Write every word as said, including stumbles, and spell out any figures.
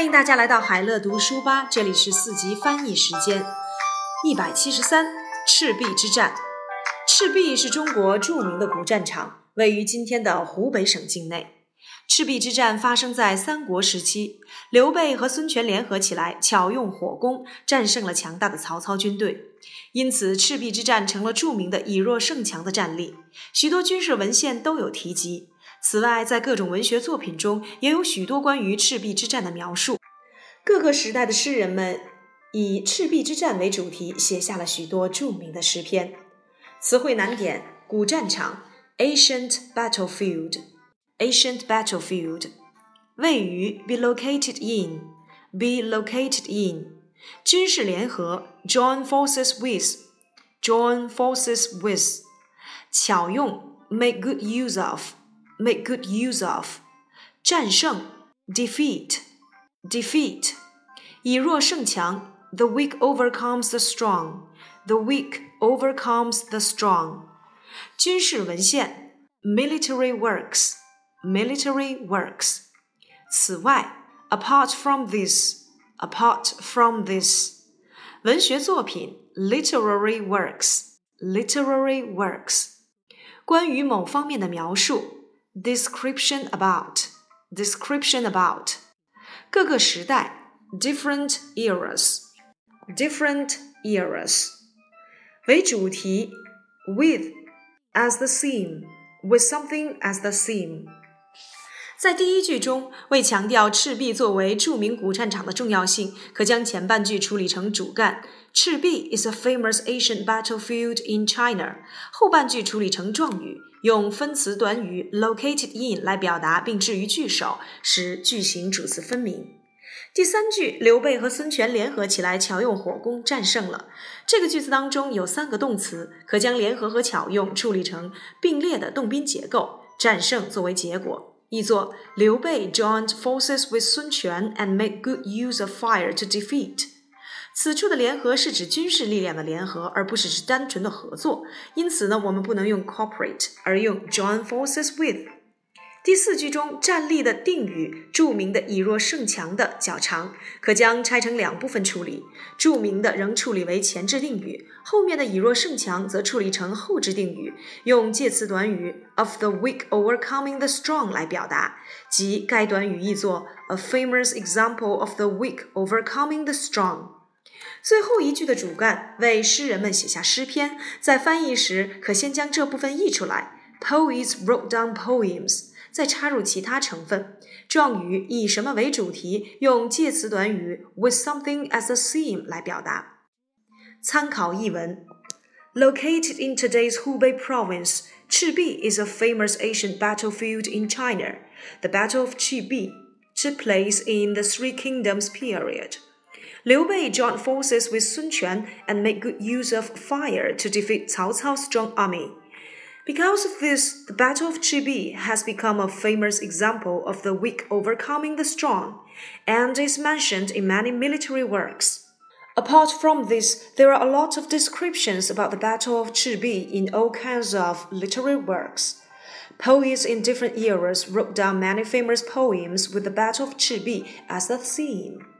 欢迎大家来到海乐读书吧，这里是四级翻译时间。一百七十三，赤壁之战。赤壁是中国著名的古战场，位于今天的湖北省境内。赤壁之战发生在三国时期，刘备和孙权联合起来，巧用火攻，战胜了强大的曹操军队。因此，赤壁之战成了著名的以弱胜强的战例，许多军事文献都有提及。此外，在各种文学作品中也有许多关于赤壁之战的描述。各个时代的诗人们以赤壁之战为主题，写下了许多著名的诗篇。词汇难点：古战场 Ancient battlefield Ancient battlefield 位于 be located in be located in 军事联合 join forces with join forces with 巧用 make good use of make good use of 战胜 defeat defeat 以弱胜强 the weak overcomes the strong the weak overcomes the strong 军事文献 military works military works 此外 apart from this apart from this 文学作品 literary works literary works 关于某方面的描述 description about description about 各个时代 different eras different eras 为主题 with as the theme with something as the theme 在第一句中，为强调赤壁作为著名古战场的重要性，可将前半句处理成主干赤壁 is a famous ancient battlefield in China 后半句处理成状语，用分词短语 located in 来表达并置于句首，使句型主次分明。第三句，刘备和孙权联合起来，巧用火攻战胜了。这个句子当中有三个动词，可将联合和巧用处理成并列的动宾结构，战胜作为结果。译作刘备 joined forces with 孙权 and made good use of fire to defeat。此处的联合是指军事力量的联合，而不是指单纯的合作。因此呢，我们不能用 cooperate， 而用 join forces with。第四句中站立的定语，著名的以弱胜强的较长，可将拆成两部分处理。著名的仍处理为前置定语，后面的以弱胜强则处理成后置定语，用介词短语 of the weak overcoming the strong 来表达，即该短语译作 a famous example of the weak overcoming the strong。最后一句的主干为诗人们写下诗篇，在翻译时可先将这部分译出来 Poets wrote down poems，再插入其他成分。状语以什么为主题，用介词短语 with something as a theme 来表达。参考译文 Located in today's Hubei province, Chibi is a famous ancient battlefield in China. The Battle of Chibi took place in the Three Kingdoms period. Liu Bei joined forces with Sun Quan and made good use of fire to defeat Cao Cao's strong army.Because of this, the Battle of Chibi has become a famous example of the weak overcoming the strong, and is mentioned in many military works. Apart from this, there are a lot of descriptions about the Battle of Chibi in all kinds of literary works. Poets in different eras wrote down many famous poems with the Battle of Chibi as the theme.